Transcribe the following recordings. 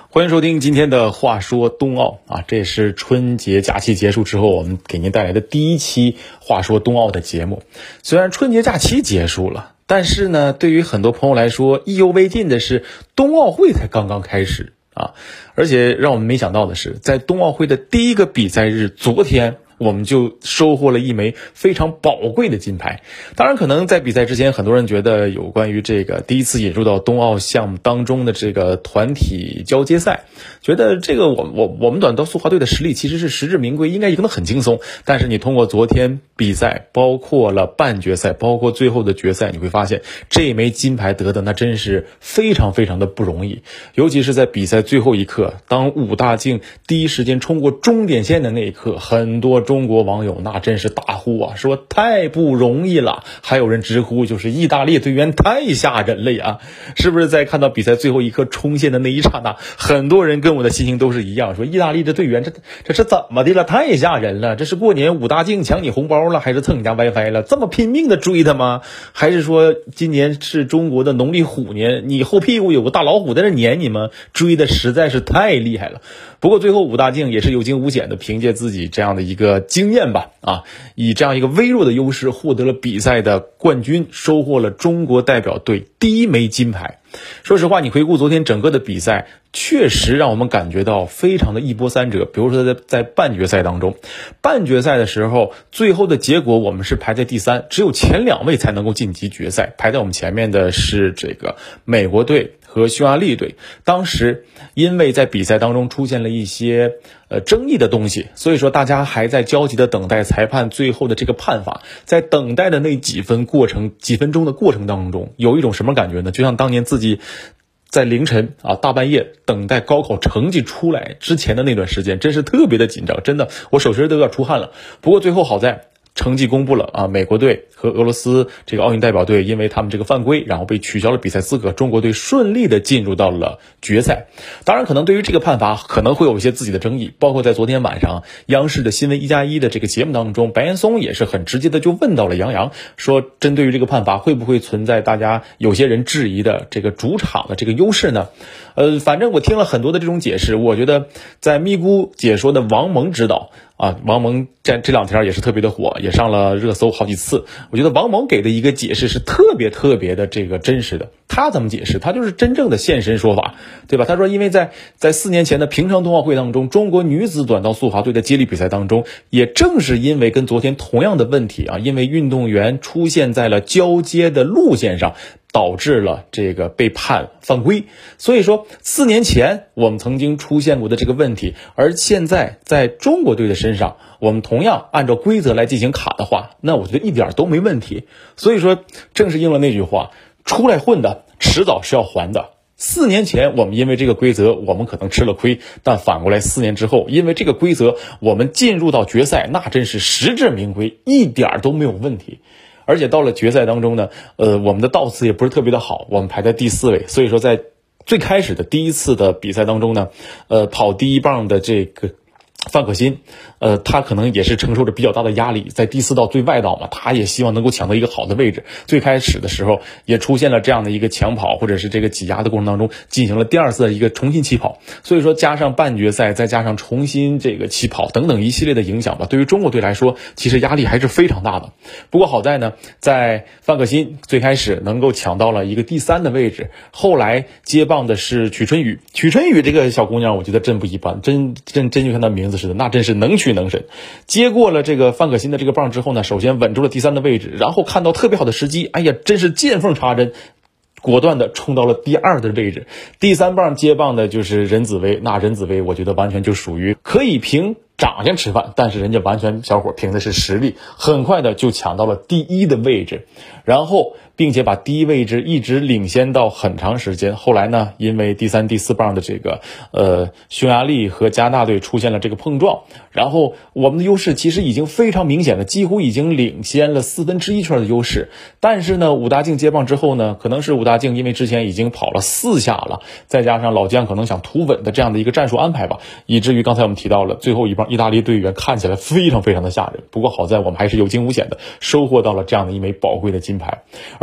欢迎收听今天的话说冬奥啊，这也是春节假期结束之后我们给您带来的第一期话说冬奥的节目。虽然春节假期结束了，但是呢，对于很多朋友来说意犹未尽的是冬奥会才刚刚开始啊，而且让我们没想到的是，在冬奥会的第一个比赛日昨天，我们就收获了一枚非常宝贵的金牌。当然可能在比赛之前，很多人觉得有关于这个第一次引入到冬奥项目当中的这个团体交接赛，觉得这个我们短道速滑队的实力其实是实至名归，应该赢得很轻松。但是你通过昨天比赛，包括了半决赛，包括最后的决赛，你会发现这一枚金牌得的那真是非常非常的不容易。尤其是在比赛最后一刻，当武大靖第一时间冲过终点线的那一刻，很多中国网友那真是大呼啊，说太不容易了。还有人直呼就是意大利队员太吓人了呀。是不是在看到比赛最后一刻冲线的那一刹那，很多人跟我的心情都是一样，说意大利的队员这是怎么的了？太吓人了！这是过年武大靖抢你红包了，还是蹭你家 WiFi 了？这么拼命的追他吗？还是说今年是中国的农历虎年，你后屁股有个大老虎在这撵你吗？追的实在是太厉害了。不过最后武大靖也是有惊无险的，凭借自己这样的一个经验吧，以这样一个微弱的优势获得了比赛的冠军，收获了中国代表队第一枚金牌。说实话，你回顾昨天整个的比赛，确实让我们感觉到非常的一波三折。比如说在半决赛当中，半决赛的时候，最后的结果我们是排在第3，只有前2位才能够晋级决赛。排在我们前面的是这个美国队和匈牙利队。当时因为在比赛当中出现了一些争议的东西，所以说大家还在焦急的等待裁判最后的这个判罚。在等待的那几分钟的过程当中，有一种什么感觉呢？就像当年自己在凌晨大半夜等待高考成绩出来之前的那段时间，真是特别的紧张，真的我手心都要出汗了。不过最后好在成绩公布了美国队和俄罗斯这个奥运代表队因为他们这个犯规，然后被取消了比赛资格，中国队顺利的进入到了决赛。当然可能对于这个判罚可能会有一些自己的争议，包括在昨天晚上央视的新闻1+1的这个节目当中，白岩松也是很直接的就问到了杨洋，说针对于这个判罚会不会存在大家有些人质疑的这个主场的这个优势呢？反正我听了很多的这种解释，我觉得在咪咕解说的王蒙指导王蒙这2天也是特别的火，也上了热搜好几次。我觉得王蒙给的一个解释是特别的这个真实的。他怎么解释？他就是真正的现身说法，对吧？他说因为在4年前的平昌冬奥会当中，中国女子短道速滑队的接力比赛当中，也正是因为跟昨天同样的问题因为运动员出现在了交接的路线上，导致了这个被判犯规。所以说4年前我们曾经出现过的这个问题，而现在在中国队的身上，我们同样按照规则来进行卡的话，那我觉得一点都没问题。所以说正是应了那句话，出来混的迟早是要还的。4年前我们因为这个规则我们可能吃了亏，但反过来4年之后，因为这个规则我们进入到决赛，那真是实至名归，一点都没有问题。而且到了决赛当中呢，我们的道次也不是特别的好，我们排在第4位。所以说在最开始的第一次的比赛当中呢，跑第1棒的这个范可新，他可能也是承受着比较大的压力，在第4道最外道嘛，他也希望能够抢到一个好的位置。最开始的时候也出现了这样的一个抢跑或者是这个挤压的过程当中，进行了第2次的一个重新起跑。所以说加上半决赛，再加上重新这个起跑等等一系列的影响吧，对于中国队来说其实压力还是非常大的。不过好在呢，在范可新最开始能够抢到了一个第3的位置，后来接棒的是曲春雨这个小姑娘，我觉得真不一般，真就像她名字似的，那真是能屈能伸。接过了这个范可新的这个棒之后呢，首先稳住了第3的位置，然后看到特别好的时机，真是见缝插针，果断的冲到了第2的位置。第3棒接棒的就是任子威，那任子威我觉得完全就属于可以凭长相吃饭，但是人家完全小伙凭的是实力，很快的就抢到了第1的位置，然后并且把第1位置一直领先到很长时间。后来呢，因为第3、第4棒的这个匈牙利和加拿大队出现了这个碰撞，然后我们的优势其实已经非常明显了，几乎已经领先了1/4圈的优势。但是呢，武大靖接棒之后呢，可能是武大靖因为之前已经跑了4下了，再加上老将可能想图稳的这样的一个战术安排吧，以至于刚才我们提到了最后一棒意大利队员看起来非常的吓人。不过好在我们还是有惊无险的收获到了这样的一枚宝贵的金牌。而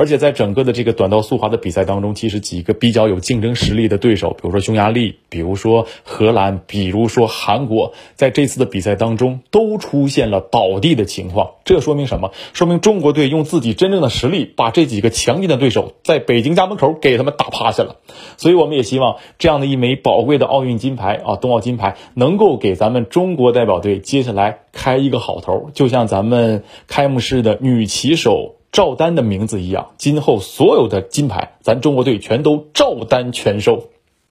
而且在整个的这个短道速滑的比赛当中，其实几个比较有竞争实力的对手，比如说匈牙利，比如说荷兰，比如说韩国，在这次的比赛当中都出现了倒地的情况。这说明什么？说明中国队用自己真正的实力把这几个强劲的对手在北京家门口给他们打趴下了。所以我们也希望这样的一枚宝贵的奥运金牌冬奥金牌能够给咱们中国代表队接下来开一个好头，就像咱们开幕式的女旗手赵丹的名字一样，今后所有的金牌咱中国队全都照单全收。